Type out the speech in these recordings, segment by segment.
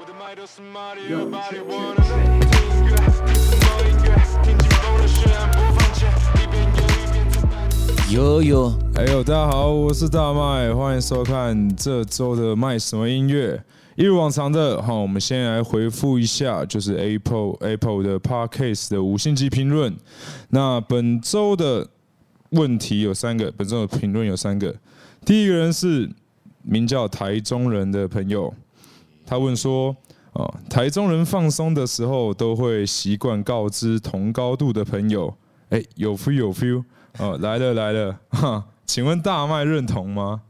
呦， 哎呦，大家好，我是大麥，歡迎收看這週的麥什麼音樂。一如往常的，好，我們先來回復一下，就是 Apple 的 Podcast 的5星級評論。那本週的問題有3個，本週的評論有3個。第一個人是名叫台中人的朋友，他問說，台中人放鬆的時候都會習慣告知同高度的朋友，哎，有 feel。來了，哈，請問大麥認同嗎？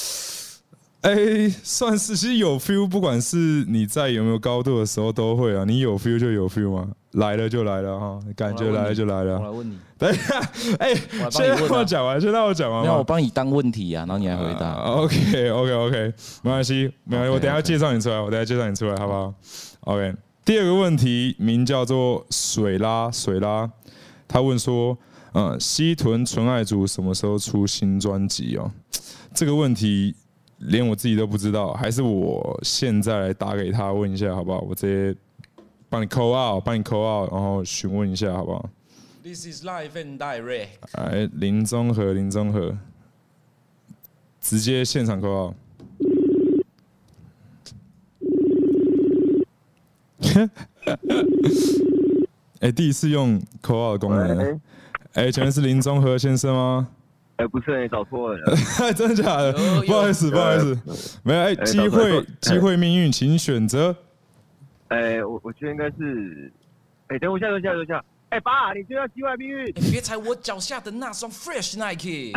算是，其實有 feel， 不管是你在有沒有高度的時候都會啊。你有 feel 就有 feel 嘛，來了就來了哈，感覺來了就來了。 我來問你， 等一下，先讓我講完， 没有，我幫你當問題啊，然後你來回答。 OK， 沒關係，我等一下介紹你出來，好不好 ？OK， 第二個問題名叫做水拉，他問說。西屯純愛組什麼時候出新專輯哦？這個問題連我自己都不知道，還是我現在來打給他問一下好不好？我直接幫你 call out， 然後詢問一下好不好 ？This is live and direct。 來，林中和，直接現場 call out。第一次用 call out 的功能。請問是林中和先生嗎？ 不是，你找錯了。 真的假的？不好意思，沒有。機會命運，請選擇。 我覺得應該是。等我一下。爸，你就要機會命運。 別踩我腳下的那雙 Fresh Nike。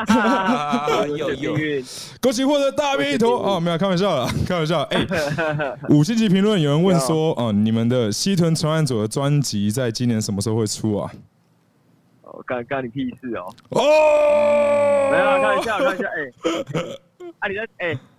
有。 恭喜獲得大便一坨。沒有，開玩笑啦。5星級評論有人問說，你們的西屯傳案組的專輯在今年什麼時候會出啊？ 干你屁事哦！ 沒有，看一下，你在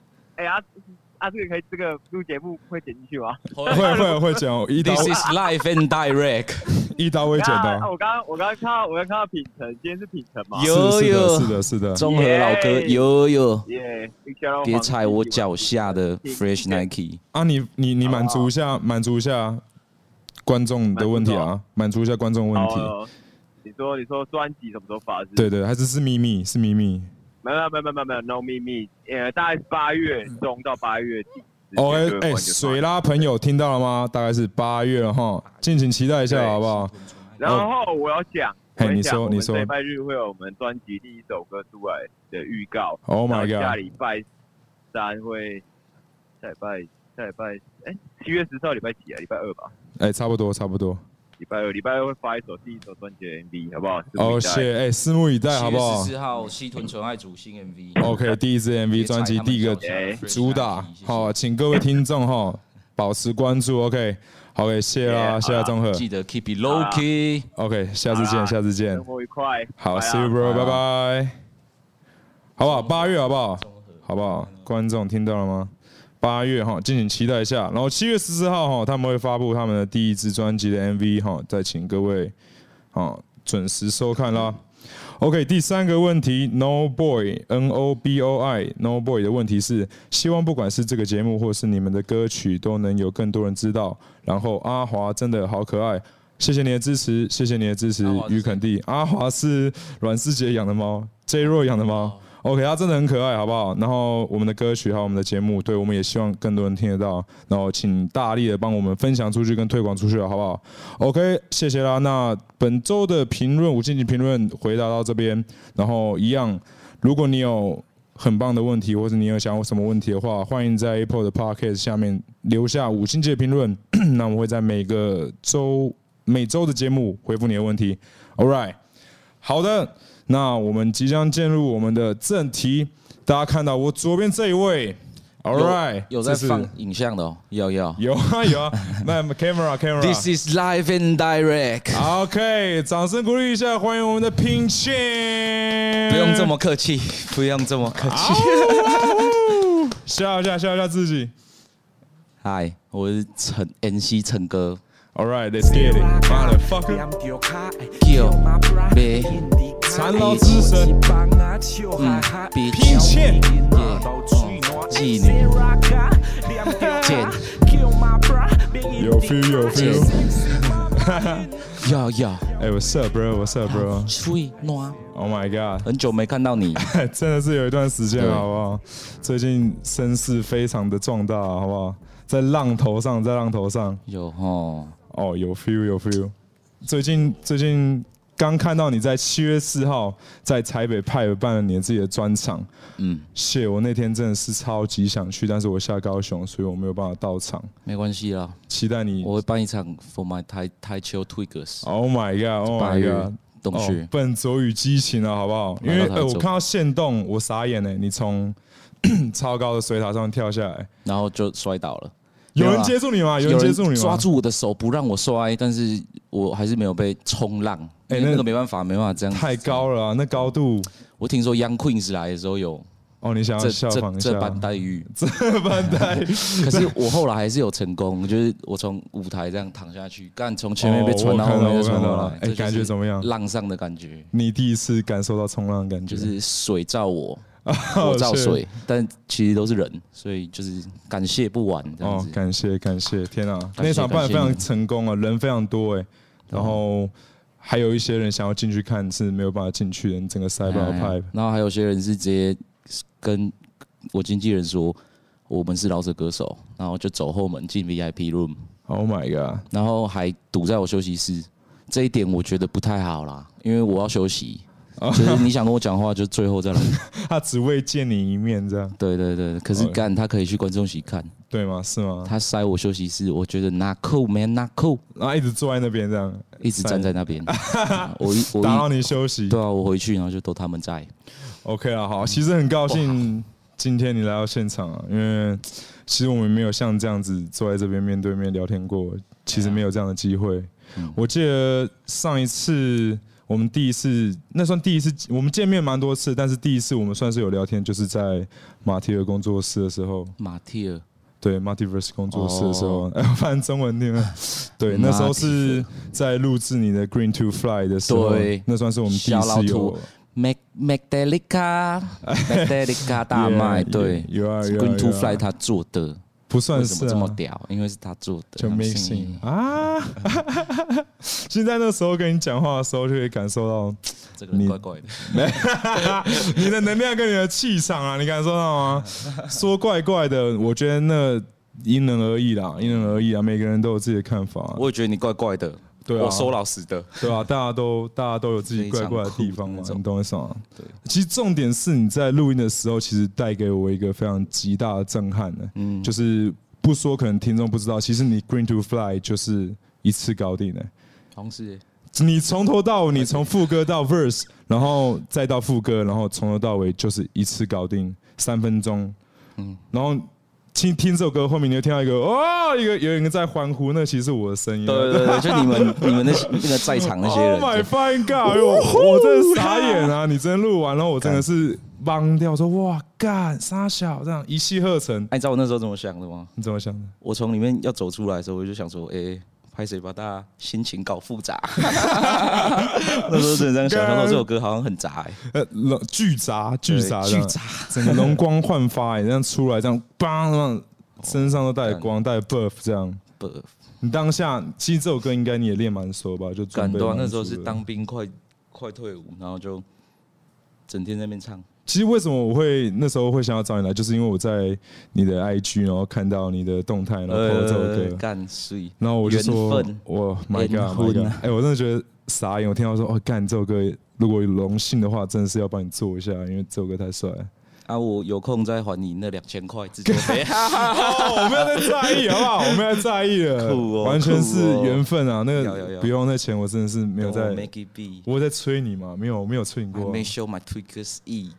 這個錄節目會剪進去嗎？ 會剪哦。 This is live and direct， 一刀未剪的。 我剛看到品成，今天是品成嗎？ 是的。 中和老哥，有。別踩我腳下的 Fresh Nike。 你滿足一下觀眾的問題啊，滿足一下觀眾問題。 你說專輯什麼時候發？ 對，還是秘密？ 沒有 ，no 秘密。大概是8月中到8月底。 水拉朋友聽到了嗎？大概是8月了哈，敬請期待一下好不好？ 然後我要講， 你說， 禮拜日會有我們專輯第一首歌出來的預告。 Oh my god！ 下禮拜3會，下禮拜7月10號禮拜幾啊？禮拜2吧？ 差不多。 禮拜二會發第一首專輯的 MV， 好不好？ 拭目以待，好不好？7 月14號西屯純愛組新 MV。OK， 第一支 MV 專輯第一個主打，好，請各位聽眾保持關注。OK， 謝啦，謝中和， 記得 keep it low key。 OK， 下次見。 生活愉快。 好 ，See you bro， 拜拜。好不好？8月好不好？好不好？觀眾聽到了嗎？8月敬請期待一下。然後7月14號他們會發布他們的第一支專輯的 MV 再請各位準時收看啦。OK， 第3個問題 ，No Boy NOBOI 的問題是，希望不管是這個節目或是你們的歌曲，都能有更多人知道。然後阿華真的好可愛，謝謝你的支持，於肯定。阿華是阮師姐養的貓 ，J Roy 養的貓。OK， 他真的很可愛，好不好？然後我們的歌曲還有我們的節目，對，我們也希望更多人聽得到。然後請大力的幫我們分享出去跟推廣出去，好不好 ？OK， 謝謝啦。那本周的評論5星級評論回答到這邊，然後一樣，如果你有很棒的問題，或者你有想有什麼問題的話，歡迎在 Apple 的 Podcast 下面留下5星級的評論，那我們會在每周的節目回復你的問題。All right， 好的。那我們即將進入我們的正題，大家看到我左邊這一位 ，All right， 有在放影像的哦，有啊， 那 camera。 This is live and direct。OK， 掌聲鼓勵一下，歡迎我們的品謙。 不用這麼客氣。 笑一下自己。 嗨，我是MC 陳哥。 All right, let's get it, motherfucker. Kill, 殘勞之神，品謙， 妓女，賤 feel 有 feel。 要， 哎 ，What's up, bro? What's up, bro? 吹暖。 Oh my god！ 很久沒看到你， 真的是有一段時間，好不好？最近聲勢非常的壯大，好不好？在浪頭上，在浪頭上。有齁。哦，有 feel， 有 feel。最近剛看到你在7月4號在台北派辦了你自己的專場。謝，我那天真的是超級想去，但是我下高雄，所以我沒有辦法到場。沒關係啦，期待你。我會辦一場 For My 台球 Twiggers。Oh my god！Oh my god！洞穴，笨拙與激情啊，好不好？因為我看到限動，我傻眼呢。你從超高的水塔上跳下來，然後就摔倒了。有人接住你嗎？有人接住你嗎？抓住我的手不讓我摔，但是我還是沒有被衝浪。那個沒辦法這樣。太高了啊，那高度。我聽說 Young Queens 來的時候有。哦，你想要效仿一下這般待遇？這般待遇。可是我後來還是有成功，就是我從舞台這樣躺下去，幹從前面被傳到後面又傳過來，哎，感覺怎麼樣？浪上的感覺。你第一次感受到衝浪的感覺？就是水照我，我照水，但其實都是人，所以就是感謝不完這樣子。感謝，天啊！那場辦得非常成功啊，人非常多哎，然後還有一些人想要進去看是沒有辦法進去的，整個塞爆派。然後還有些人是直接跟我經紀人說我們是饒舌歌手，然後就走後門進 VIP room。Oh my god！ 然後還堵在我休息室，這一點我覺得不太好啦，因為我要休息。就是你想跟我講話，就最後再來。他只為見你一面，這樣。對，可是幹他可以去觀眾席看，對嗎？是嗎？他塞我休息室，我覺得 not cool man not cool， 然後一直坐在那邊這樣，一直站在那邊。我打擾你休息。對啊，我回去然後就都他們在。OK 啊，好，其實很高興今天你來到現場啊，因為其實我們沒有像這樣子坐在這邊面對面聊天過，其實沒有這樣的機會。我記得上一次。我們第一次，那算第一次，我們見面蠻多次，但是第一次我們算是有聊天，就是在馬蒂爾工作室的時候。馬蒂爾，對 ，Multiverse 工作室的時候，我翻中文念了。對，那時候是在錄製你的 Green to Fly 的時候，對，那算是我們第一次有。Magdalena 大麥，對，有 Green to Fly 他做的。不算是這麼屌，因為是他做的，就 mixing 啊。現在那時候跟你講話的時候，就可以感受到這個怪怪的，你的能量跟你的氣場啊，你感受到嗎？說怪怪的，我覺得那因人而異啦，因人而異啊，每個人都有自己的看法。我也覺得你怪怪的。對啊，我說老實的，對啊，大家都有自己怪怪的地方嘛，你懂我意思嗎？對，其實重點是你在錄音的時候，其實帶給我一個非常極大的震撼的，就是不說可能聽眾不知道，其實你 Green to Fly 就是一次搞定的，好像是，你從頭到尾，你從副歌到 verse， 然後再到副歌，然後從頭到尾就是一次搞定，3分鐘，然後。聽這首歌後面，你就聽到一個有人在歡呼，那其實是我的聲音。對，就你們那個在場那些人。Oh my fucking god！ 我真的傻眼啊！你真的錄完，然後我真的是懵掉，說哇幹傻小這樣一氣呵成。你知道我那時候怎麼想的嗎？你怎麼想的？我從裡面要走出來的時候，我就想說，拍誰把大家心情搞複雜？那時候真的這樣想，說這首歌好像很雜，巨雜，整個容光煥發，這樣出來，這樣bang，身上都帶光，帶 buff 這樣。buff， 你當下其實這首歌應該你也練蠻熟吧？就準備那時候是當兵快退伍，然後就整天在那邊唱。其實為什麼我會那時候會想要找你來，就是因為我在你的 IG， 然後看到你的動態，然後 po 這首歌，然後我就說，哇 ，My God， 我真的覺得傻眼。我聽到說，幹這首歌，如果有榮幸的話，真的是要幫你做一下，因為這首歌太帥了。啊，我有空再還你那2000塊自助費。我沒有在在意，好不好？我沒有在在意了，完全是緣分啊。那個不用那錢，我真的是沒有在。我在催你嘛？沒有催你過。I make sure my Twiggers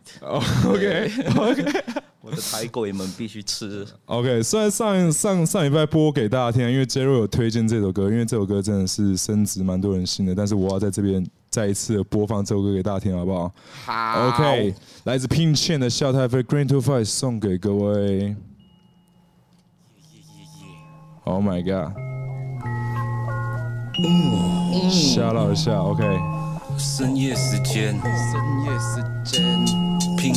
eat。OK。我的台鬼們必須吃。OK， 雖然上禮拜播給大家聽，因為 J.Ro 有推薦這首歌，因為這首歌真的是深植蠻多人心的，但是我要在這邊再一次播放這首歌給大家聽，好不好？好。OK， 來自 Pin Chain 的笑太妃 Green to Fly 送給各位。Oh my god！ 嚇到一下 ，OK。深夜時間 ，Pin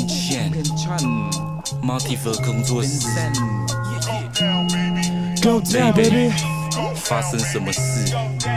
Chain。Multiverse 工作室 ，Go down baby， 發生什麼事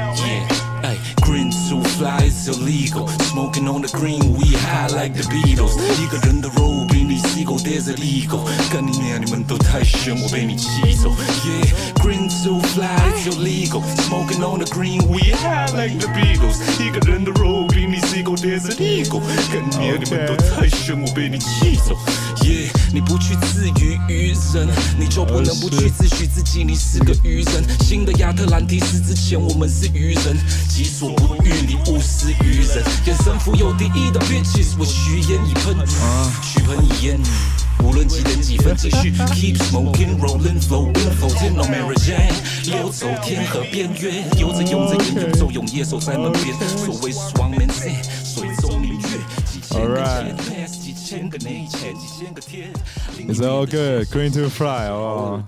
Yeah。Green too fly, it's illegal. Smoking on the green, we high like the Beatles. 一個人的肉比你細狗，there's illegal. 幹你娘，你們都太兇，我被你氣走。Yeah, green too fly, it's illegal. Smoking on the green, we high like the Beatles. 一個人的肉比你細狗，there's illegal. 幹你娘，你們都太兇，我被你氣走。Yeah， 你不去自娛於人，你就不能不去自詡自己，你是個愚人。新的亞特蘭蒂斯之前，我們是愚人，己所不欲，你勿施於人。眼神富有第一的 bitches， 我虛言一噴，虛噴一言。無論幾點幾分，繼續 keep smoking, rolling, flowing, floating on Mary Jane， 溜走天河邊緣，游着泳着煙，游走泳夜守在門邊。所謂 Swangman Say， 水中明月，幾千個千 pass， 幾千個內線，幾千個天。 It's all good, Green to Fly， 好不好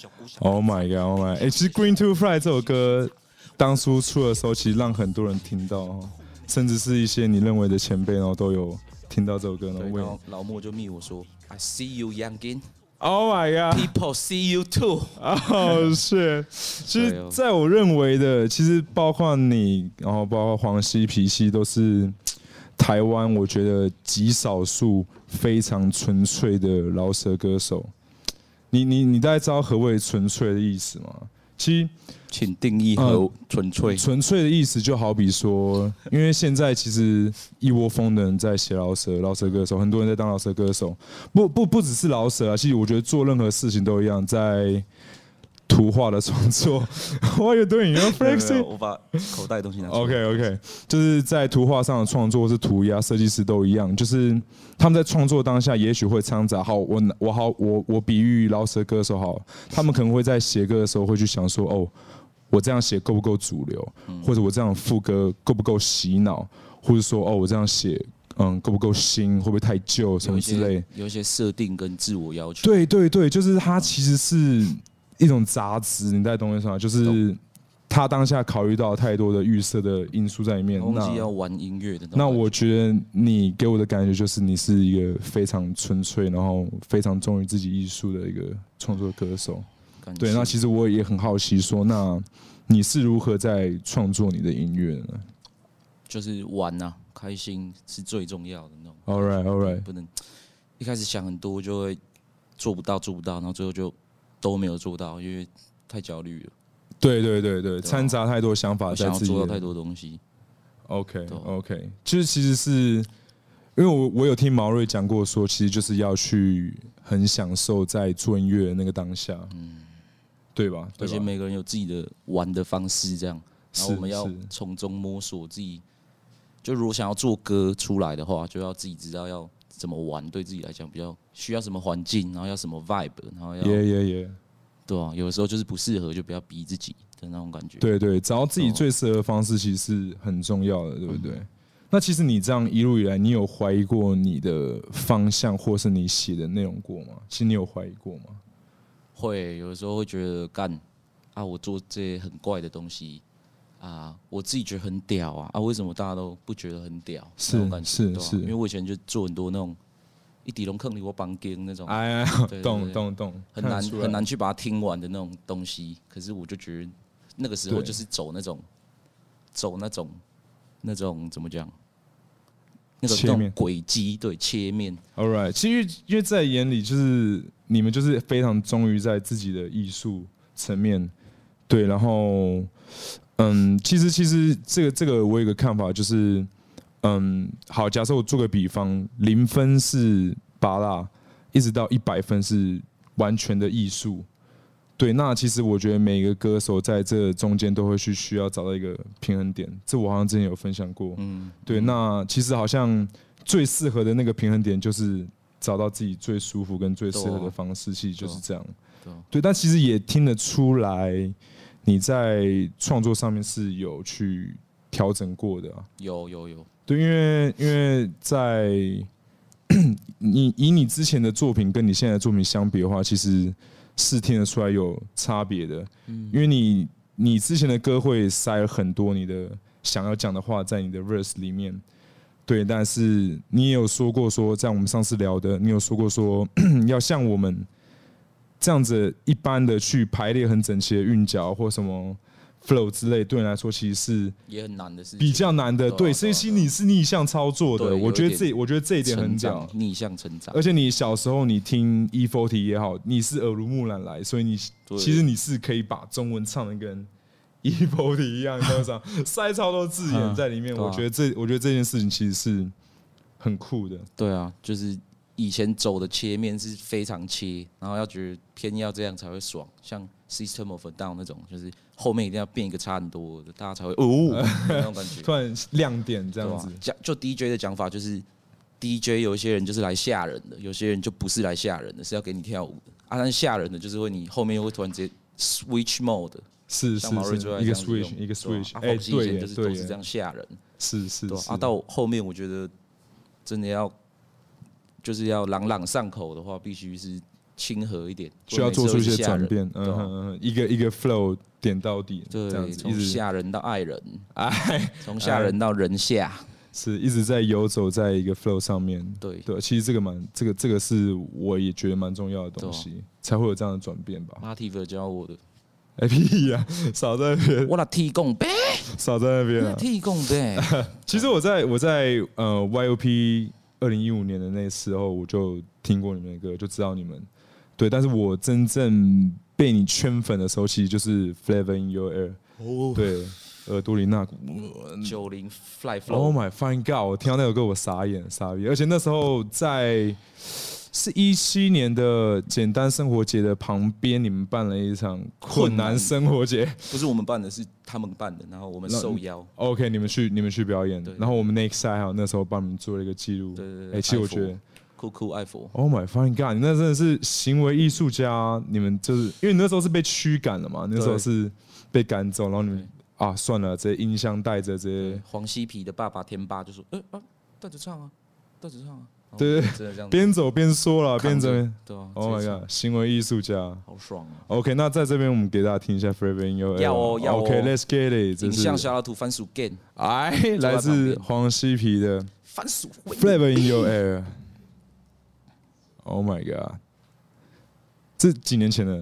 ？Oh my god, oh my！ 其實 Green to Fly 這首歌當初出的時候，其實讓很多人聽到，甚至是一些你認為的前輩，然後都有聽到這首歌。然後老莫就密我說 ，I see you, youngin. Oh my god! People see you too. 哦，是。其實，在我認為的，其實包括你，然後包括黃西、皮西，都是台灣我覺得極少數非常純粹的饒舌歌手。你大概知道何謂純粹的意思嗎？其實， 請定義和純粹。 純粹的意思就好比說，因為現在其實一窩蜂的人在寫饒舌歌手，很多人在當饒舌歌手。不只是饒舌啊，其實我覺得做任何事情都一樣，在圖畫的創作。What are you doing? You're flexing. 我把口袋的東西拿出來。 OK， 就是在圖畫上的創作，或是塗鴉設計師都一樣，就是他們在創作當下，也許會摻雜。好，我比喻饒舌歌手好，他們可能会在寫歌的時候會去想說，哦，我這樣寫夠不夠主流，或者我這樣副歌夠不夠洗腦，或者說哦，我這樣寫夠不夠新，會不會太舊什麼之類， 有一些設定跟自我要求。 對，就是它其實是一種雜質，你在懂我意思嗎？就是他當下考慮到太多的預設的因素在裡面。 忘記要玩音樂的。 那我覺得你給我的感覺就是你是一個非常純粹，然後非常忠於自己藝術的一個創作歌手。對，那其實我也很好奇說，那你是如何在創作你的音樂呢？ 就是玩啊，開心是最重要的那種。 All right， 不能一開始想很多就會做不到，然後最後就都沒有做到，因為太焦慮了。對，摻雜太多想法在自己， 想要做到太多東西。 OK， 就是其實是因為我有聽毛瑞講過說，其實就是要去很享受在做音樂的那個當下，對吧？ 而且每個人有自己的玩的方式，這樣，然後我們要從中摸索自己。就如果想要做歌出來的話，就要自己知道要怎麼玩，對自己來講比較需要什麼環境，然後要什麼 vibe， 然後要對啊，有的時候就是不適合，就不要逼自己的那種感覺。 對，找到自己最適合的方式其實是很重要的，对不對？那其實你這樣一路以來，你有懷疑過你的方向，或是你寫的內容過嗎？其實你有懷疑過嗎？ 會，有的時候會覺得幹啊，我做這些很怪的東西啊，我自己覺得很屌啊，為什麼大家都不覺得很屌？那種感覺是，因為我以前就做很多那種。一底龍坑裡我綁根那種， 懂， 很難去把它聽完的那種東西。可是我就覺得那個時候就是走那種怎麼講？那種軌跡，對，切面。 All right， 其實因為在眼裡就是你們就是非常忠於在自己的藝術層面，對，然後其實這個我有一個看法就是。好，假設我做個比方，0分是芭樂，一直到100分是完全的藝術。對，那其實我覺得每個歌手在這中間都會需要找到一個平衡點，這我好像之前有分享過。對，那其實好像最適合的那個平衡點就是找到自己最舒服跟最適合的方式，其實就是這樣。對，但其實也聽得出來你在創作上面是有去調整過的啊。 有。 對，因為在以你之前的作品跟你現在的作品相比的話，其實是聽得出來有差別的。因為你之前的歌會塞了很多你的想要講的話在你的 verse 裡面，對。但是你也有說過說，在我們上次聊的，你有說過說要像我們這樣子一般的去排列很整齊的韻腳或什麼 flow 之類，對你來說其實是也很難的事情， 比較難的。對，所以其實你是逆向操作的。我覺得這一點很屌， 逆向成長。 而且你小时候你听 E40 也好，你是耳濡目染来，所以其實你是可以把中文唱的跟 E40 一樣，那種塞超多字眼在裡面。我覺得這件事情其實是很酷的。 对啊，就是以前走的切面是非常切，然後要覺得偏要這樣才會爽，像 System of a Down 那種，就是後面一定要變一個差很多的，大家才會那種感覺， 突然亮點這樣子。 就 DJ 的講法就是 ，DJ 有一些人就是來嚇人的，有些人就不是來嚇人的，是要給你跳舞的。啊，但是嚇人的就是會你後面又會突然直接 switch mode， 是像毛瑞最愛一個 switch， 哎，對耶，就是都是這樣嚇人， 是。 啊，到後面我覺得真的要。就是要朗朗上口的話，必須是親和一點， 需要做出一些轉變。一個 flow 點到底， 對， 這樣子， 從嚇人到愛人，從嚇人到人下， 是一直在游走在一個 flow 上面。对，其實這個是我也覺得蠻重要的東西，才會有這樣的轉變吧。 Marty 教我的。 屁呀，少在那邊！ 我來提供唄， 少在那邊啊！ 提供唄。 其實我在YOP。2015年的那時候，我就聽過你們的歌，就知道你們。對，但是我真正被你圈粉的時候，其實就是 Flavor in Your Air。哦，对，耳朵裡那股 90 Fly Flow。 Oh my fine God！ 我听到那首歌，我傻眼，而且那時候是17年的簡單生活節的旁邊，你們辦了一場困難生活節， 不是我們辦的，是他們辦的，然後我們受邀。 OK， 你们去表演，然後我們 Next Side 還有那時候幫你們做了一個記錄。 對， 其實我覺得酷愛佛。 Oh my fucking God！ 你那真的是行為藝術家，你們就是因為你那時候是被驅趕了嘛，那時候是被趕走，然後你們算了，這些音箱帶着這些。 黃西皮的爸爸天霸就說：“帶着唱啊。” 对，邊走邊說了，邊走。Oh my god， 行為藝術家， 好爽啊 ！OK， 那在這邊我們給大家聽一下 Flavor in Your Air。要 OK，Let's get it。影像小老圖番薯 Game， 来自黃西皮的番薯 Flavor in Your Air。Oh my god， 這幾年前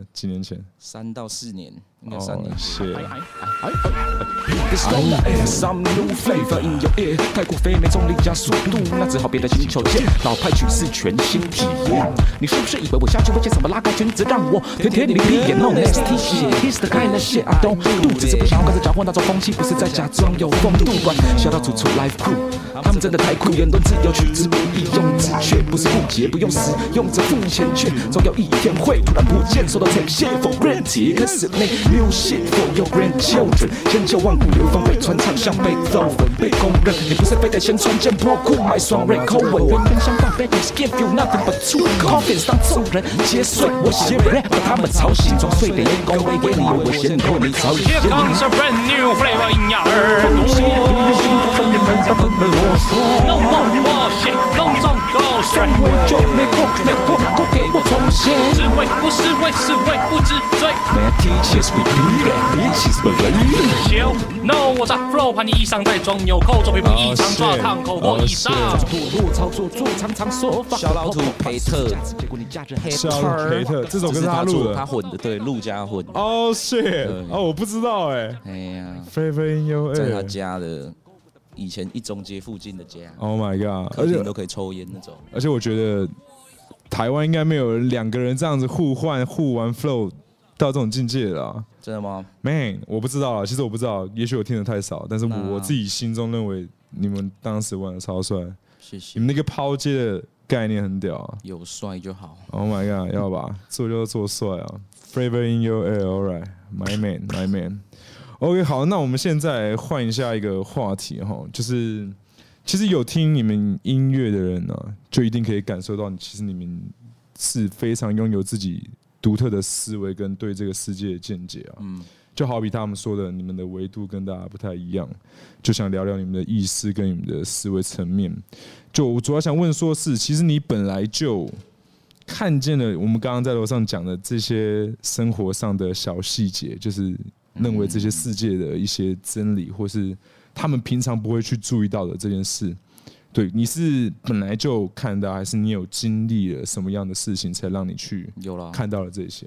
？3到4年，應該3年。謝。Some new flavor in your ear， 太過肥美重力加速度，那只好別的星球見。老派曲是全新體驗，你是不是以為我下去會見什麼拉高裙子讓我舔舔你的屁眼 ？No nasty shit，It's the kind of shit I don't do， 只是不想要跟着攪和那種風氣，不是在假裝有風度。笑到楚楚 Live Crew， 他們真的太酷，言論自由取之不易用之，卻不是誤解，不用使用着付錢，卻總有一天會突然不見，受到這些 for granted。Cause it make music for your grandchildren， 千秋萬古流芳被傳唱，像貝多芬被公認。你不是非得先穿件破褲買雙蕊口吻，原本相反 ，Babies give you nothing but true confidence， 當眾人皆睡我寫 rap， 把他們吵醒，裝睡的眼光會給你，我先扣你草原。Here comes a brand new flavor in your耳朵。No more bullshit， 隆重狗水，就沒過給我重現。是為不是為是為不知罪。Teachers repeat it， bitches believe it。No， 我炸 flow， 怕你衣裳在裝紐扣，作品不異常抓燙口或以上。墮落操作做常常說法。小老土培特，結果你架着 hater。這首歌是他錄的，他混的，對，陸家混。Oh shit！ 我不知道哎。哎呀 ，Flavor in Your Air， 在他家的以前一中街附近的家。Oh my god！ 客廳都可以抽煙那種。而且我覺得台灣應該沒有2個人這樣子互玩 flow。到這種境界了啊，真的嗎 ？Man， 我不知道啊，其實我不知道，也許我聽得太少，但是我自己心中認為你們當時玩的超帥，謝謝。你們那個拋接的概念很屌啊，有帥就好。Oh my god， 要吧，做就做帥啊 ！Flavor in Your Air，all right，my man，my man。OK， 好，那我們現在換一下一個話題哈，就是其實有聽你們音樂的人呢，就一定可以感受到，其實你們是非常擁有自己獨特的思維跟對這個世界的見解啊，就好比他們說的，你們的維度跟大家不太一樣，就想聊聊你們的意識跟你們的思維層面。就我主要想問說是，其實你本來就看見了我們剛剛在樓上講的這些生活上的小細節，就是認為這些世界的一些真理，或是他們平常不會去注意到的這件事。對，你是本來就看到，還是你有經歷了什麼樣的事情，才讓你去看到了這些？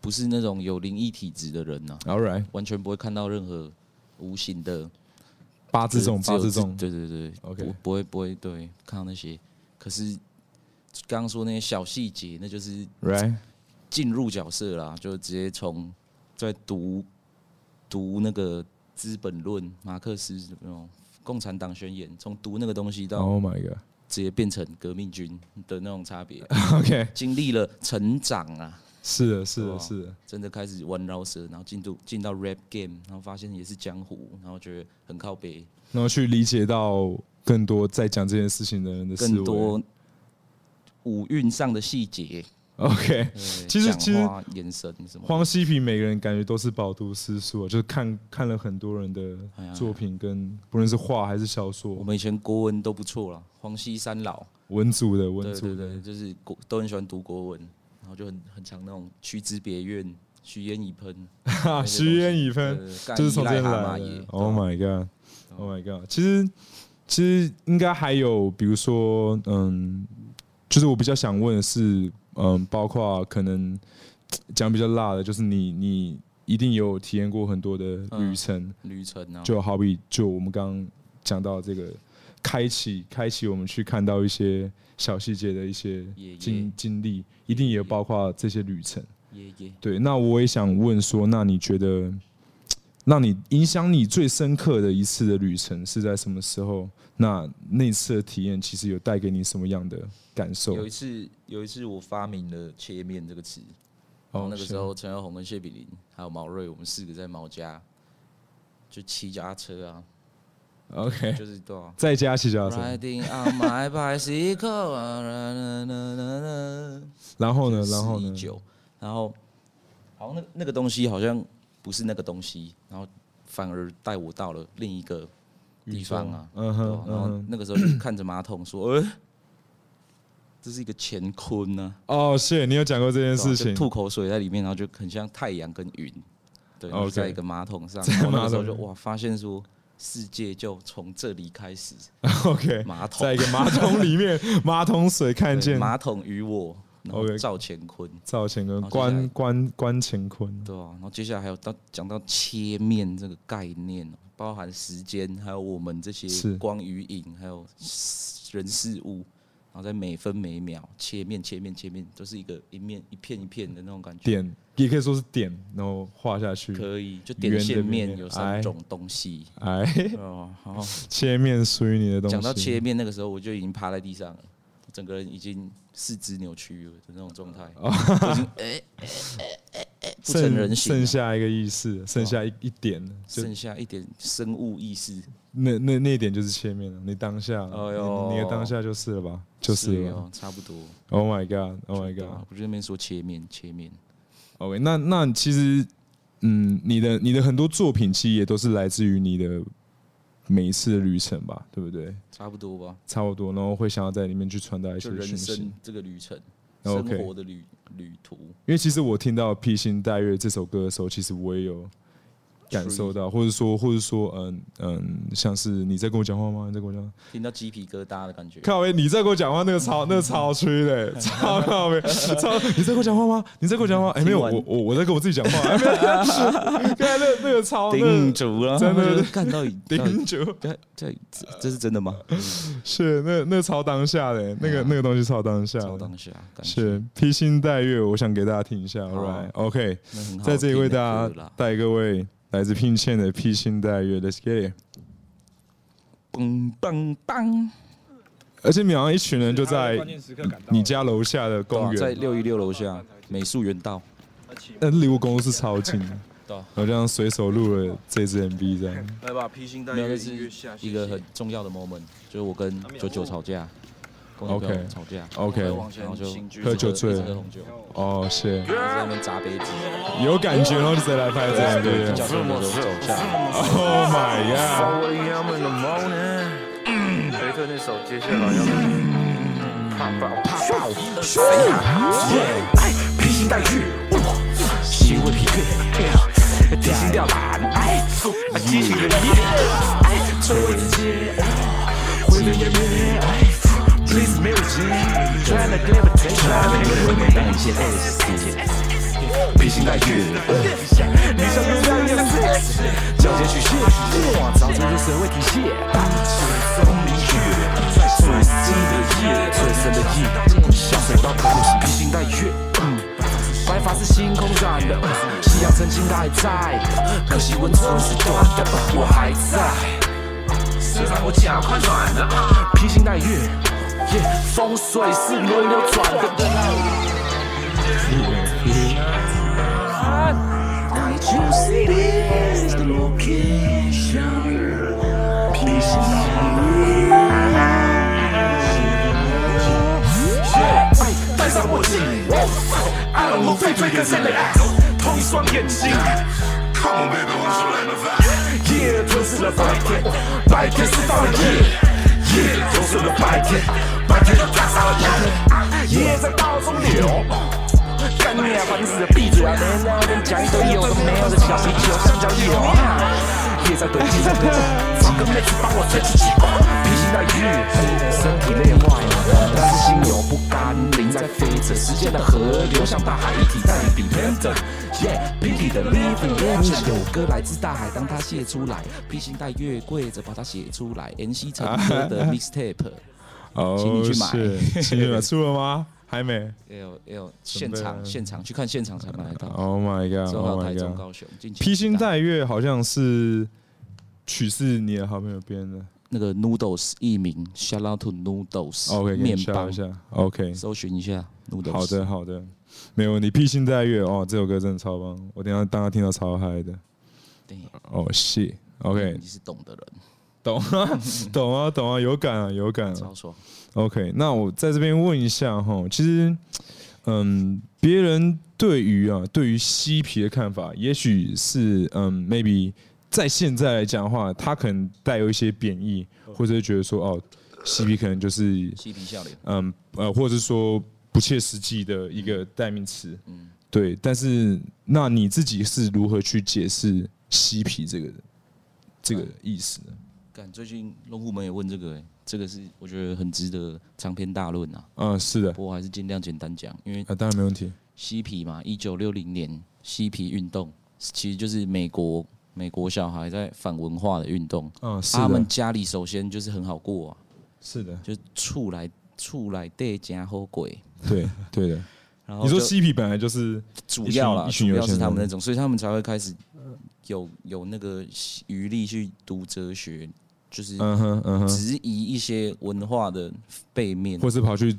不是那種有靈異體質的人吶。 All right， 完全不會看到任何無形的八字重， 对对对 ，OK， 不會对看到那些。可是剛剛說那些小細節，那就是進入角色啦，就直接從在讀那個《資本論》馬克思那種共產黨宣言，從讀那個東西到 Oh my God， 直接變成革命軍的那種差別。 OK， 經歷了成長啊。 是的，真的開始玩饒舌，然後進到 rap game， 然後發現也是江湖，然後覺得很靠北， 然後去理解到更多在講這件事情的人的思維， 更多舞韻上的細節。 OK， 其實眼神什麼， 黃西皮每個人感覺都是飽讀詩書，就是看了很多人的作品，跟不論是畫還是小說。 我們以前國文都不錯啦，黃西三老文組的， 對，就是都很喜歡讀國文。然後就很常那種屈之別院，虛煙已噴， 虛煙已噴，就是從這邊來的。Oh my god，Oh my god， 其實應該還有，比如說，就是我比較想問的是，包括可能講比較辣的，就是你一定有體驗過很多的旅程，就好比就我們剛剛講到這個開啟我們去看到一些小細節的一些經歷，一定也有包括這些旅程。對，那我也想問說，那你覺得讓你影響你最深刻的一次的旅程是在什麼時候？那次的體驗其實有帶給你什麼樣的感受？ 有一次我發明了“切面”這個詞，然後那個時候陳耀宏跟謝比鄰還有毛瑞，我們4個在毛家就騎腳踏車啊。 OK， 就是對啊， 在家騎腳踏車。然後呢？然後好像那個東西好像不是那個東西，然後反而帶我到了另一個地方啊。然後那個時候就看着馬桶說：“這是一個乾坤啊。”哦，是，你有講過這件事情。 吐口水在裡面，然後就很像太陽跟雲，對，在一個馬桶上。然後那個時候就哇，發現說。世界就從這裡開始。 OK， 馬桶在一個馬桶裡面，馬桶水看見馬桶與我，然後趙乾坤， 關乾坤， 對啊。然後接下來還有講到切面這個概念，包含時間，還有我們這些光與影，還有人事物。然後在每分每秒切面，都是一個一片一片的那種感覺。 點也可以說是點，然後畫下去。 可以，就點線面有3種東西。 好，切面屬於你的東西。 講到切面，那個時候我就已經趴在地上了，整個人已經四肢扭曲了的那種狀態，已經不成人形， 剩下一個意識，剩下一點， 剩下一點生物意識。 那一點就是切面了，你当下，你的当下就是了吧？就是了， 差不多。 Oh my god，Oh my god！ 我就在那邊說切面。 OK， 那其實，你的很多作品其實也都是來自於你的每一次的旅程吧，對不對？ 差不多吧。 差不多，然後會想要在裡面去傳達一些訊息。 人生這個旅程，生活的旅途。 因為其實我聽到《披星戴月》這首歌的時候，其實我也有感受到，或者說，像是你在跟我講話嗎？你在跟我講話， 聽到雞皮疙瘩的感覺。 靠北，你在跟我講話，那個超吹的，超靠北，你在跟我講話嗎？你在跟我講話？沒有，我在跟我自己講話。剛才那個超頂住了， 真的看到頂住。 這是真的嗎？ 是那超當下的，那個東西超當下。是披星戴月，我想給大家聽一下。Alright， OK， 在這裡為大家帶各位。來自聘倩的披星戴月 ，Let's get it！ 棒！ 而且你好像一群人就在你家樓下的公園， 在616樓下美術園道， 離我公司超近的。我這樣隨手錄了這支 MV， 這樣。 來吧，披星戴月是一個很重要的 moment， 就是我跟99吵架。 OK， 吵架 ，OK， 然後就喝酒醉了，哦，是， 在那邊砸杯子， 有感覺，然後就再來拍這樣，對不对？ 腳踏車走下 ，Oh my god！ 雷特那首接下來要怕爆，披星戴月，心未疲倦，提心吊膽，激情的夜，摧毀世界，毀人滅。Please music，try to levitate，當一切 S， 披星戴月，理想越来越 sex， 交接曲線，找出这社會底線，最終明月，最深的夜，最深的夜，享受到可惜，披星戴月，白髮是星空染的，夕陽曾經還在，可惜溫存是短的，我還在。誰讓我腳快軟了？披星戴月，風水是輪流轉的。Can't you see this the location？ 披星戴上墨鏡 ，I don't know 狒狒跟誰來愛，同一雙眼睛。Come on baby， 我說來吧。夜吞噬了白天，白天釋放了夜，夜吞噬了白天，白天又趕上了夜，夜在道中流。幹你啊，煩死了，閉嘴啊！沒聊天講一堆有的沒有的小啤酒，香蕉有。夜在堆積，找個妹子幫我吹氣球，披星戴月，身體累壞了，但是心有不甘，靈在飛着，時間的河流向大海一體，帶你 dependent。Pinky 的 living legend， 有歌來自大海，當它寫出來，披星戴月跪着把它寫出來。NC 成歌的 mixtape， 請你去買。 請你買，出了嗎？還沒。 要現場去看現場才買得到。 Oh my god！Oh my god！ 高雄披星戴月好像是曲是你的好朋友編的。 那個 Noodles 藝名 ，Shout out to Noodles， 麵包。 OK， 搜尋一下 Noodles。好的，沒問題。披星戴月哦，這首歌真的超棒，我等一下當他聽到超嗨的。哦，謝 OK， 你是懂的人。 懂啊，有感啊。 超爽。 OK， 那我在這邊問一下哈，其實，別人對於嬉皮的看法，也許是maybe 在現在來講的話，他可能帶有一些貶義，或者是覺得說哦，嬉皮可能就是嬉皮笑臉， 或者是說不切實際的一個代名詞，對。但是，那你自己是如何去解釋嬉皮這個意思呢？ 最近龍虎門也問這個，這個是我覺得很值得長篇大論啊。 是的。 不過還是盡量簡單講，因為當然沒問題。 嬉皮嘛，1960年嬉皮運動其實就是美國小孩在反文化的運動。他們家裡首先就是很好過啊。是的。就厝內底真好過。對的。然後你說嬉皮本來就是主要是他們那種，所以他們才會開始有那個餘力去讀哲學。就是質疑一些文化的背面， 或是跑去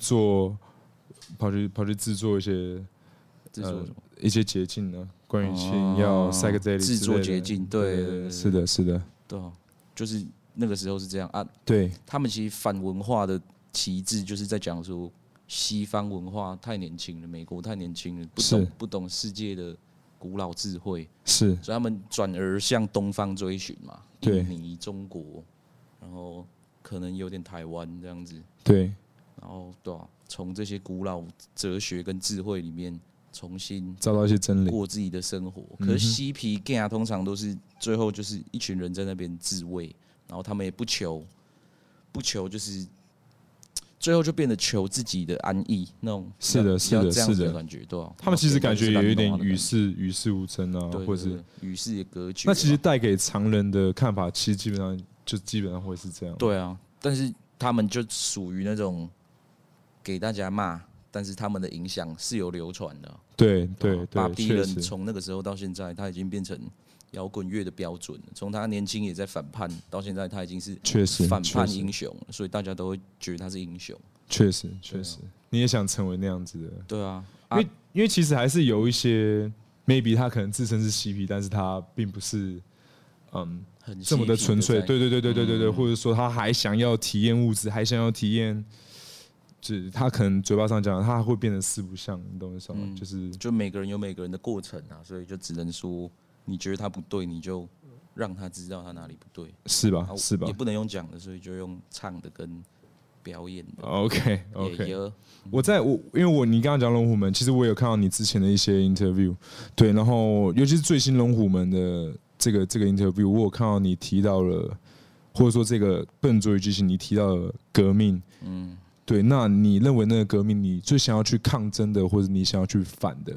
制作一些一些捷徑呢？關於性要 psychedelic 制作捷徑，對， 是的， 對，就是那個時候是這樣啊。 對， 他們其實反文化的旗幟就是在講說，西方文化太年輕了，美國太年輕了，不懂世界的古老智慧，所以他們轉而向東方追尋嘛，印尼、中國。然後可能有點台灣這樣子，對，然後對啊，從這些古老哲學跟智慧裡面重新找到一些真理， 過自己的生活。可是嬉皮 gang 通常都是最後就是一群人在那邊自慰，然後他們也不求，就是最後就變得求自己的安逸那種，是的感觉，对啊。他们其實感覺有一點與世無爭啊，或者是與世也隔絕。 那其實帶給常人的看法，其實基本上會是這樣。 對啊，但是他們就屬於那種給大家罵，但是他們的影響是有流傳的。對，巴比倫從那個時候到現在，他已經變成搖滾樂的標準了。從他年輕也在反叛，到現在他已經是反叛英雄了，所以大家都會覺得他是英雄。確實，你也想成為那樣子的。對啊， 因為其實還是有一些 maybe 他可能自稱是嬉皮，但是他並不是這麼的純粹，對，或者說他還想要體驗物質，還想要體驗，就是他可能嘴巴上講，他會變得四不像，你懂我意思嗎？ 就每個人有每個人的過程啊，所以就只能說，你覺得他不對，你就讓他知道他哪裡不對，是吧？也不能用講的，所以就用唱的跟表演的。 OK， 因為你剛剛講龍虎門，其實我有看到你之前的一些 interview， 對，然後尤其是最新龍虎門的。這個 interview， 我有看到你提到了，或者說這個笨拙與激情，你提到了革命，對，那你認為那個革命，你最想要去抗爭的，或者你想要去反的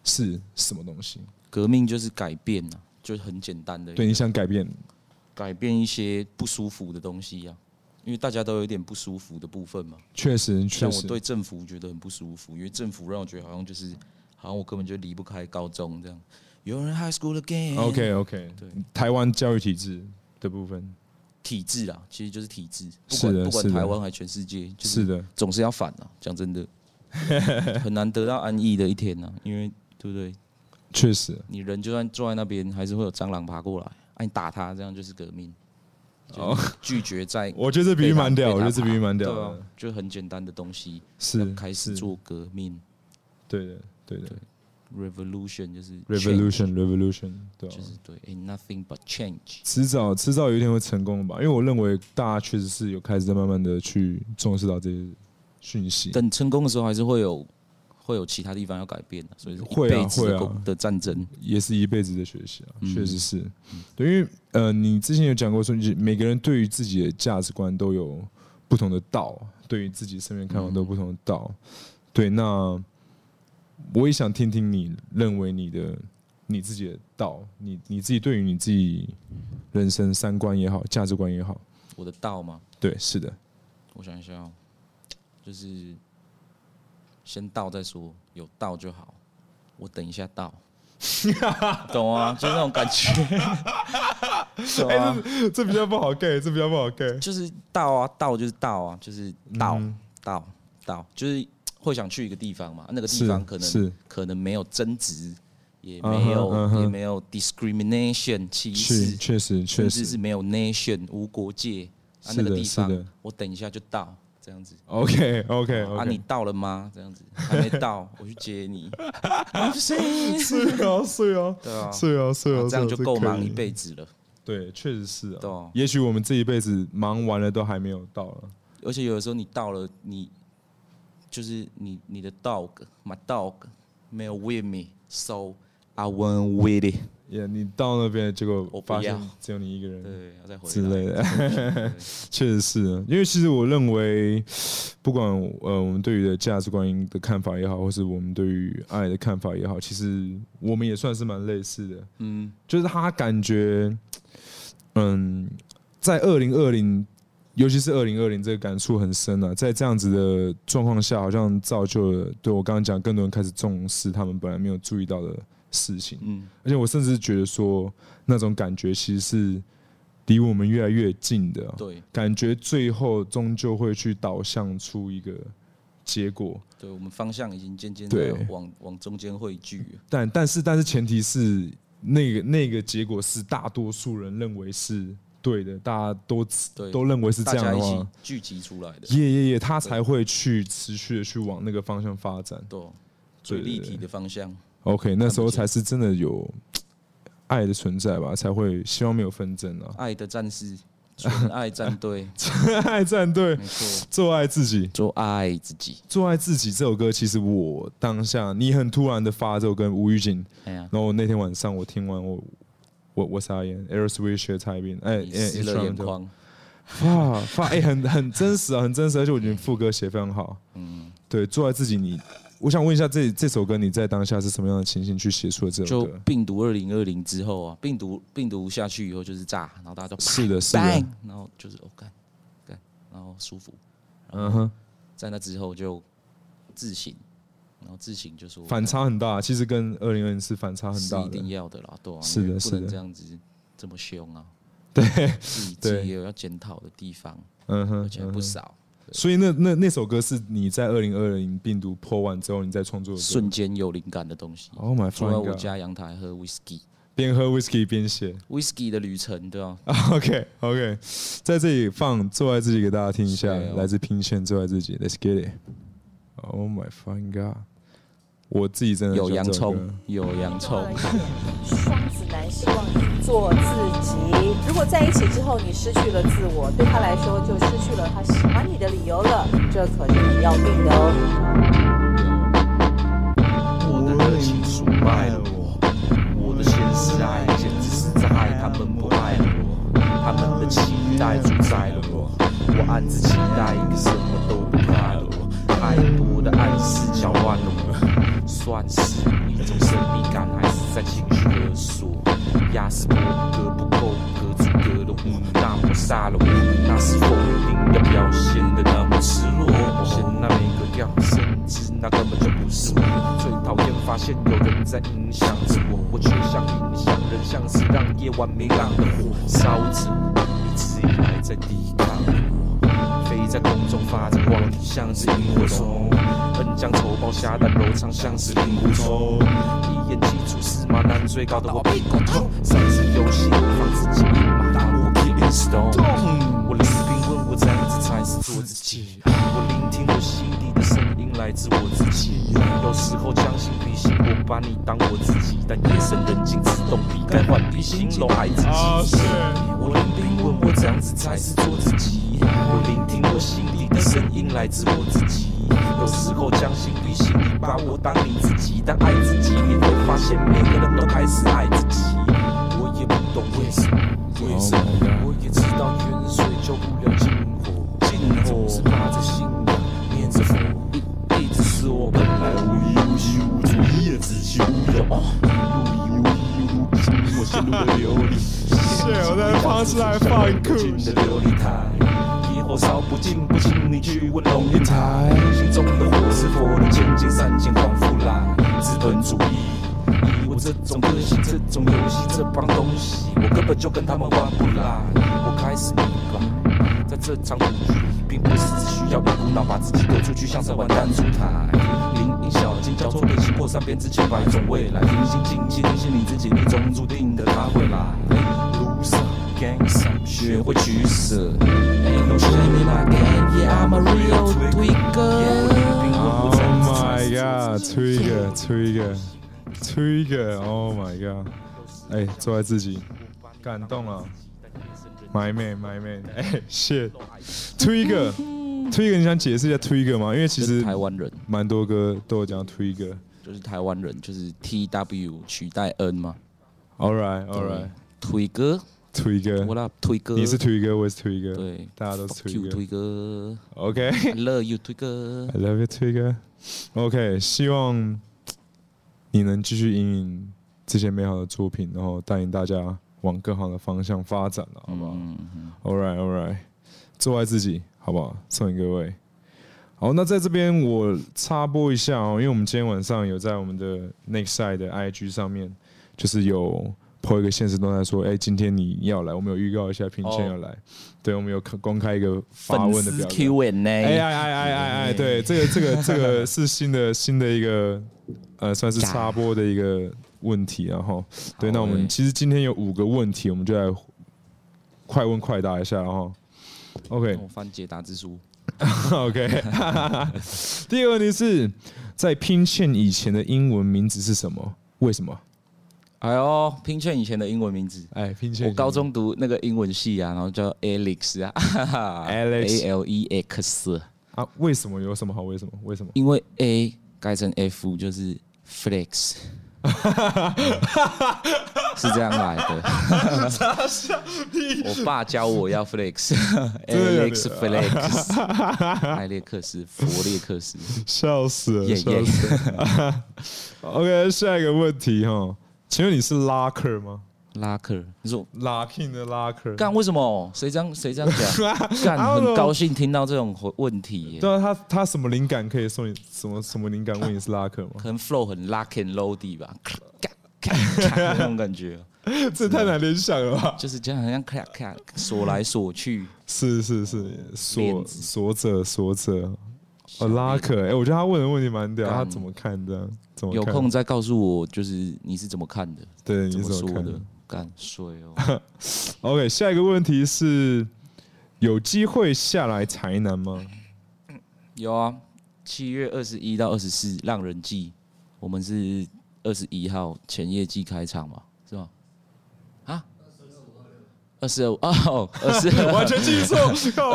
是什麼東西？ 革命就是改變啊，就是很簡單的。 對，你想改變一些不舒服的東西啊，因为大家都有一點不舒服的部分嘛。 確實， 像我對政府覺得很不舒服，因為政府讓我覺得好像我根本就離不開高中這樣。有人 high school again。OK， 對，台灣教育體制的部分。體制啊，其實就是體制，不管台灣還全世界， 是的， 總是要反啊。講真的，很難得到安逸的一天啊，因為對不對？ 確實，你人就算坐在那邊，還是會有蟑螂爬過來，你打他，這樣就是革命。拒絕在， 我覺得這比喻蠻屌，我覺得這比喻蠻屌的， 就很簡單的東西， 是開始做革命。 對的。 Revolution 就是 Revolution， 對， 就是對 ，ain't nothing but change。 遲早有一天會成功吧？因為我認為大家確實是有開始在慢慢的去重視到這些訊息。 等成功的時候，還是會有其他地方要改變的，所以一輩子的戰爭也是一輩子的學習啊，確實是。對，因為你之前有講過說，每個人對於自己的價值觀都有不同的道，對於自己身邊看法都有不同的道。對，那。我也想聽聽你認為你自己的道，你自己對於你自己人生三觀也好，價值觀也好， 我的道嗎？ 對，是的。 我想一下哦，就是先到再說，有到就好。我等一下到，懂啊？就那種感覺。 這比較不好 get， 就是到啊，到就是到啊，就是到，就是。會想去一個地方嘛？那個地方可能沒有爭執，也沒有 discrimination 歧視， 確實， 甚至是沒有 nation 無國界。那個地方我等一下就到，這樣子。 OK。 你到了嗎？這樣子還沒到，我去接你。是啊，對啊， 這樣就夠忙一輩子了。 對，確實是啊。也許我們這一輩子忙完了都還沒有到了。 而且有的時候你到了，就是你的 dog，my dog 沒有 with me，so I went with it。 你到那邊結果發現只有你一個人， 對，要再回來之類的，確實是。因為其實我認為，不管我們對於的價值觀的看法也好，或是我們對於愛的看法也好，其實我們也算是蠻類似的。就是他感覺，在2020。尤其是2020，這個感觸很深啊！在這樣子的狀況下，好像造就了對我剛剛講，更多人開始重視他們本來沒有注意到的事情。而且我甚至覺得說，那種感覺其實是離我們越來越近的。 對， 感覺最後終究會去導向出一個結果。 對，我們方向已經漸漸的往中間匯聚。 但是前提是那個結果是大多數人認為是。對的，大家都認為是這樣的話，大家一起聚集出來的， 他才會去持續的去往那個方向發展， 對，最立體的方向。 OK， 那時候才是真的有愛的存在吧，才會希望沒有紛爭啊。 愛的戰士，純愛戰隊， 純愛戰隊，沒錯，做愛自己， 做愛自己， 做愛自己。這首歌其實我當下你很突然的發這首歌，無預警，然後那天晚上我聽完我傻眼 ，Aerosmith 學蔡斌， 濕了眼眶， 很真實啊，很真實，而且我覺得副歌寫非常好，對，做愛自己，我想問一下，這首歌你在當下是什麼樣的情形去寫出了這首歌？ 就病毒2020之後啊，病毒下去以後就是炸，然後大家就是的， 然後就是幹，然後舒服，在那之後就自省。然後自省就說反差很大，其實跟2020是反差很大的， 是一定要的啦，對啊， 是的， 不能這樣子這麼凶啊， 對， 自己也有要檢討的地方，而且不少。 所以那首歌是你在2020病毒破完之後，你在創作的瞬間有靈感的東西。 Oh my god！ 坐在我家陽台喝 whisky， 邊喝 whisky 邊寫 whisky 的旅程，對啊。 OK， 在這裡放做愛自己給大家聽一下，來自PINK CHAIN做愛自己 ，Let's get it。Oh my fucking god！ 我自己真的有洋蔥， 双子男希望你做自己。如果在一起之後你失去了自我，對他來說就失去了他喜歡你的理由了，這可是你要定的哦。 我的熱情出賣了我的現實愛簡直是在愛，他們不愛了我，他們的期待主宰了我，我暗自期待一個什麼都不快樂我，太多的暗示攪亂了我。算是你一種神秘感，還是在情緒勒索？亞斯伯格不夠格阻隔的我，那麼殺了我，那是否一定要表現得那麼赤裸？顯那每個調，甚至那根本就不是我。最討厭發現有人在影響着我，我卻像影響人，像是讓夜晚明亮的火燒着，一直以來在抵抗我，飛在空中發着光，像是螢火蟲，恩將仇報，下蛋柔腸，像是令狐沖。一言既出，駟馬難追，搞得我屁股痛。上次遊戲我放自己一馬，但我 keep it stone。我聆听問我這樣子才是做自己，我聆聽我心底的聲音來自我自己。有時候將心比心，我把你當我自己，但夜深人靜自動避開換筆形容愛自己。我聆聽問我這樣子才是做自己，我聆聽我心底的聲音來自我自己。有時候將心比心，你把我當你自己，但愛自己你會發現每個人都開始愛自己。我也不懂為什麼，我也知道遠水救不了近火，總是把着信仰念着佛，一直是我本來無依無靠无主意的自欺无有，无依我陷入了流离， 我在方式来放酷的琉璃台。火燒不盡，不請你去問龍應台，心中的火是否能前進3千光復來？資本主義，以我這種個性，這種遊戲，這幫東西，我根本就跟他們玩不來。我開始明白，在這場賭局，並不是只需要一股腦把自己丟出去，像在玩彈珠台。林蔭小徑交錯人心破散，變之千百種未來。平心靜氣，提醒你自己，你總注定的他會來。路上。學會取捨。Ain't no shame in my game, yeah I'm a real tweaker. Oh my god, Trigger, oh my god. 哎，做愛自己，感動啊 ，My man， 哎 ，shit，Trigger， 你想解釋一下 Trigger 嗎？因為其實台灣人蠻多歌都有講 Trigger， 就是台灣人就是 TW 取代 N 嘛。 All right， 推哥。 推哥， 我啦推哥， 你是推哥，我是推哥， 对， 大家都是推哥。 推哥 ，OK，I love you 推哥 ，I love you 推哥。OK， 希望你能繼續引領這些美好的作品，然後帶領大家往更好的方向發展了，好不好？All right， 做愛自己，好不好？送給各位。好，那在這邊我插播一下哦，因為我們今天晚上有在我們的 Next Side 的 IG 上面，就是有。po 一個限時動態說，哎，今天你要來，我們有預告一下，品謙要來，對，我們有公開一個發問的表格 Q&A， 哎，對，這個是新的一個算是插播的一個問題，然後對，那我們其實今天有5個問題，我們就來快問快答一下，然後 OK， 我翻解答之書 ，OK， 第一個問題是在品謙以前的英文名字是什麼？為什麼？ 哎呦，品謙以前的英文名字， 哎，品謙， 我高中讀那個英文系啊，然後叫 Alex 啊 ，Alex 啊，為什麼？有什麼好？為什麼？ 因為 A 改成 F 就是 Flex， 是這樣來的。我爸教我要 Flex，Alex Flex， 艾列克斯，佛列克斯， 笑死了，笑死了。OK， 下一個問題哈。請問你是拉克嗎？ 拉克，你說 Locking 的拉克？ 幹為什麼？誰這樣講？幹很高興聽到這種問題。 對啊，他什麼靈感可以送你？什麼靈感問你是拉克嗎？ 可能 flow 很 lock and loady 吧，那種感覺。 這太難聯想了吧？ 就是這樣，好像鎖來鎖去。 是，鎖着。哦，拉克，哎，我覺得他問的問題蠻屌，他怎麼看的？ 有空再告訴我，就是你是怎麼看的？ 對， 你怎麼看的？ 幹衰哦。 OK， 下一個問題是，有機會下來台南嗎？ 有啊，7月21到24浪人祭，我們是21號前夜祭開場嘛，是吧？啊？22哦，22 完全記錯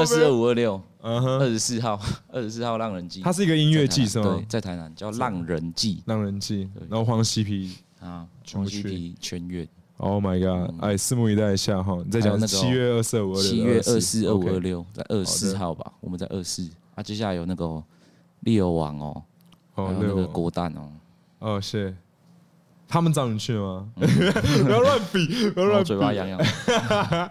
，22、526，24號浪人祭， 它是一個音樂祭是嗎？ 對，在台南叫浪人祭， 然後黃西皮啊，黃西皮全員。 Oh my god！ 哎，拭目以待一下哈。你在講7月22、526， 7月24、25、26，在24號吧，我們在24。啊，接下來有那個利友王哦，還有那個國蛋哦。 哦，是。 他們找你去嗎？不要亂比，不要亂比， 嘴巴癢癢。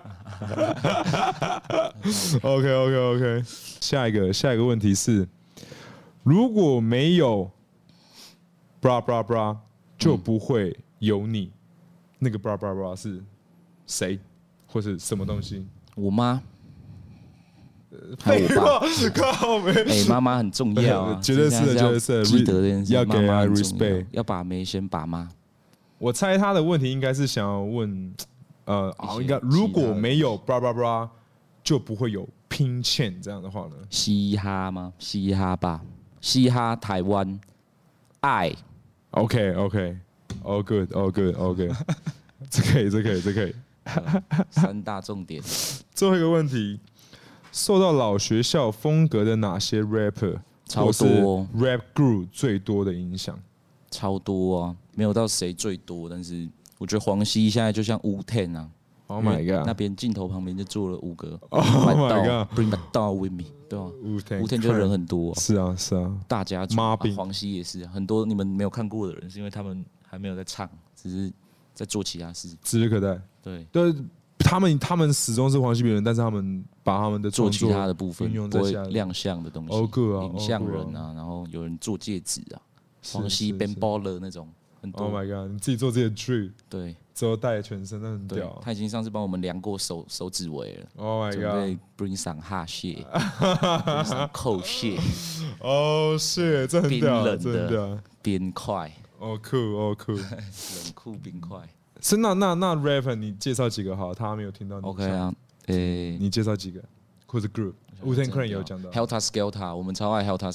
OK， 下一個問題是，如果沒有 bra bra bra， 就不會有你。那個 bra bra bra 是誰，或是什麼東西？ 我媽。還有我爸， 靠北！ 媽媽很重要啊， 絕對是的， 記得這件事， 要給她 respect， 要把妹先把媽。 我猜他的問題應該是想要問，應該如果沒有 bra bra bra， 就不會有拼欠這樣的話呢？ 嘻哈嗎？嘻哈吧，嘻哈台灣愛。 OK，all good， 這可以。 三大重點。 最後一個問題。受到老學校風格的哪些 rapper 超多 rap group 最多的影響？ 超多啊，沒有到誰最多，但是我覺得黃西現在就像Wu-Tang啊 ，Oh my god， 那邊鏡頭旁邊就坐了5個 ，Oh my god，Bring my dog with me， 對吧 ？Wu-Tang 就人很多， 是啊， 大家族，黃西也是，很多你們沒有看過的人，是因為他們還沒有在唱，只是在做其他事， 指日可待。對。他們始終是黃西別人，但是他們把他們的做其他的部分用不會亮相的東西，影像人啊，然後有人做戒指啊，黃西 Ben Baller 那種很多。 Oh my god！ 你自己做自己的 drip， 對， 之後戴全身，那很屌。 他已經上次幫我們量過手指圍了。 Oh my god！ 準備 bring some hot shit，bring some cold shit。Oh shit！ 這很屌， 冰冷的冰塊。 酷。 冷酷冰塊。 是那 rapper 你介紹幾個好？他沒有聽到你。 OK 啊， 你介紹幾個？或者 group？ Wu-Tang Clan 有講到。 Helter Skelter， 我們超愛 Helter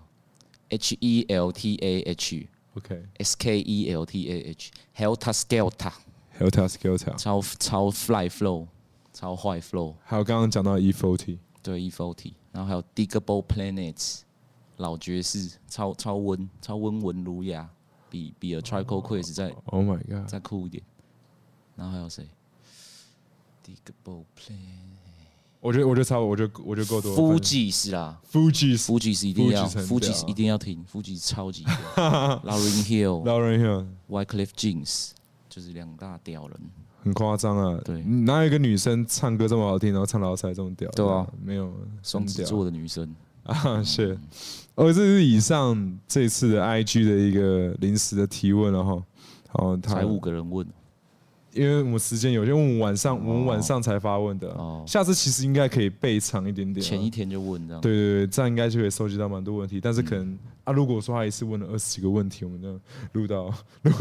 Skelter。Helter Skelter。Helter Skelter。 超 fly flow， 超壞 flow。 還有剛剛講到 E40。 對 E40， 然後還有 Digable Planets， 老爵士，超溫文儒雅。比 A Tribe Called Quest 再 Oh my god 再酷一點，然後還有誰 ？Digable Plan， 我覺得夠多。 Fugees 啦 ，Fugees 一定要 ，Fugees 一定要聽 ，Fugees 超級屌。Lauryn Hill，Wyclef Jeans， 就是2大屌人，很誇張啊。 對， 哪有一個女生唱歌這麼好聽，然後唱老塞這麼屌？ 對啊， 沒有雙子座的女生啊，是。這是以上這次的 IG 的一個臨時的提問了哈。好， 才5個人問， 因為我們時間有限，我們晚上才發問的。下次其實應該可以備長一點點， 前一天就問這樣。 對，這樣應該就可以收集到蠻多問題。但是可能如果說他一次問了20幾個問題，我們就錄到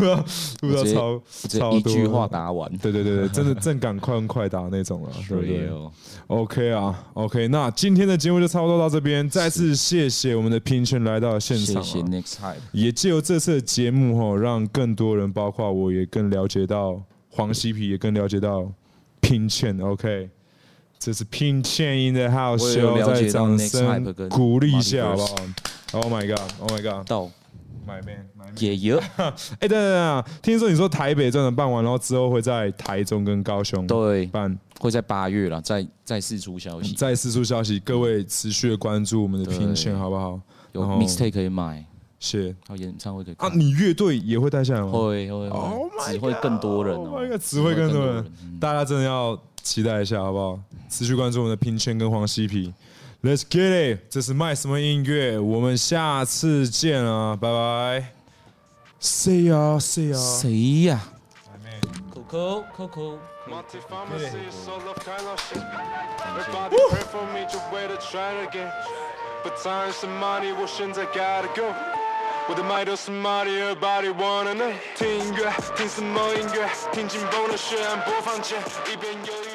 超多， 一句話答完。 對，真的正趕快答那種了，對不對 ？OK， 那今天的節目就差不多到這邊。再次謝謝我們的拼圈來到現場， 謝謝 Next Hype。 也藉由這次的節目讓更多人，包括我也更了解到黃西皮，也更了解到拼圈。OK。這是拼圈 in the house， 需要再掌聲鼓勵一下，好不好 ？Oh my god！ 到 ，My man， 也有。 等，聽說你說台北真的辦完，然後之後會在台中跟高雄辦， 會在8月了，再釋出消息， 各位持續的關注我們的拼圈，好不好？ 有 mixtape 可以買， 是， 還有演唱會可以啊，你樂隊也會帶下來嗎？ 會，只會更多人哦， 只會更多人，大家真的要期待一下，好不好？持續關注我們的拼圈跟黃西皮 ，Let's get it！ 這是賣什麼音樂？我們下次見啊，拜拜。誰呀？ Coco。我的麥都是馬里 ，Everybody wanna know。聽音樂，聽什麼音樂？聽緊繃的血案播放鍵，一邊有。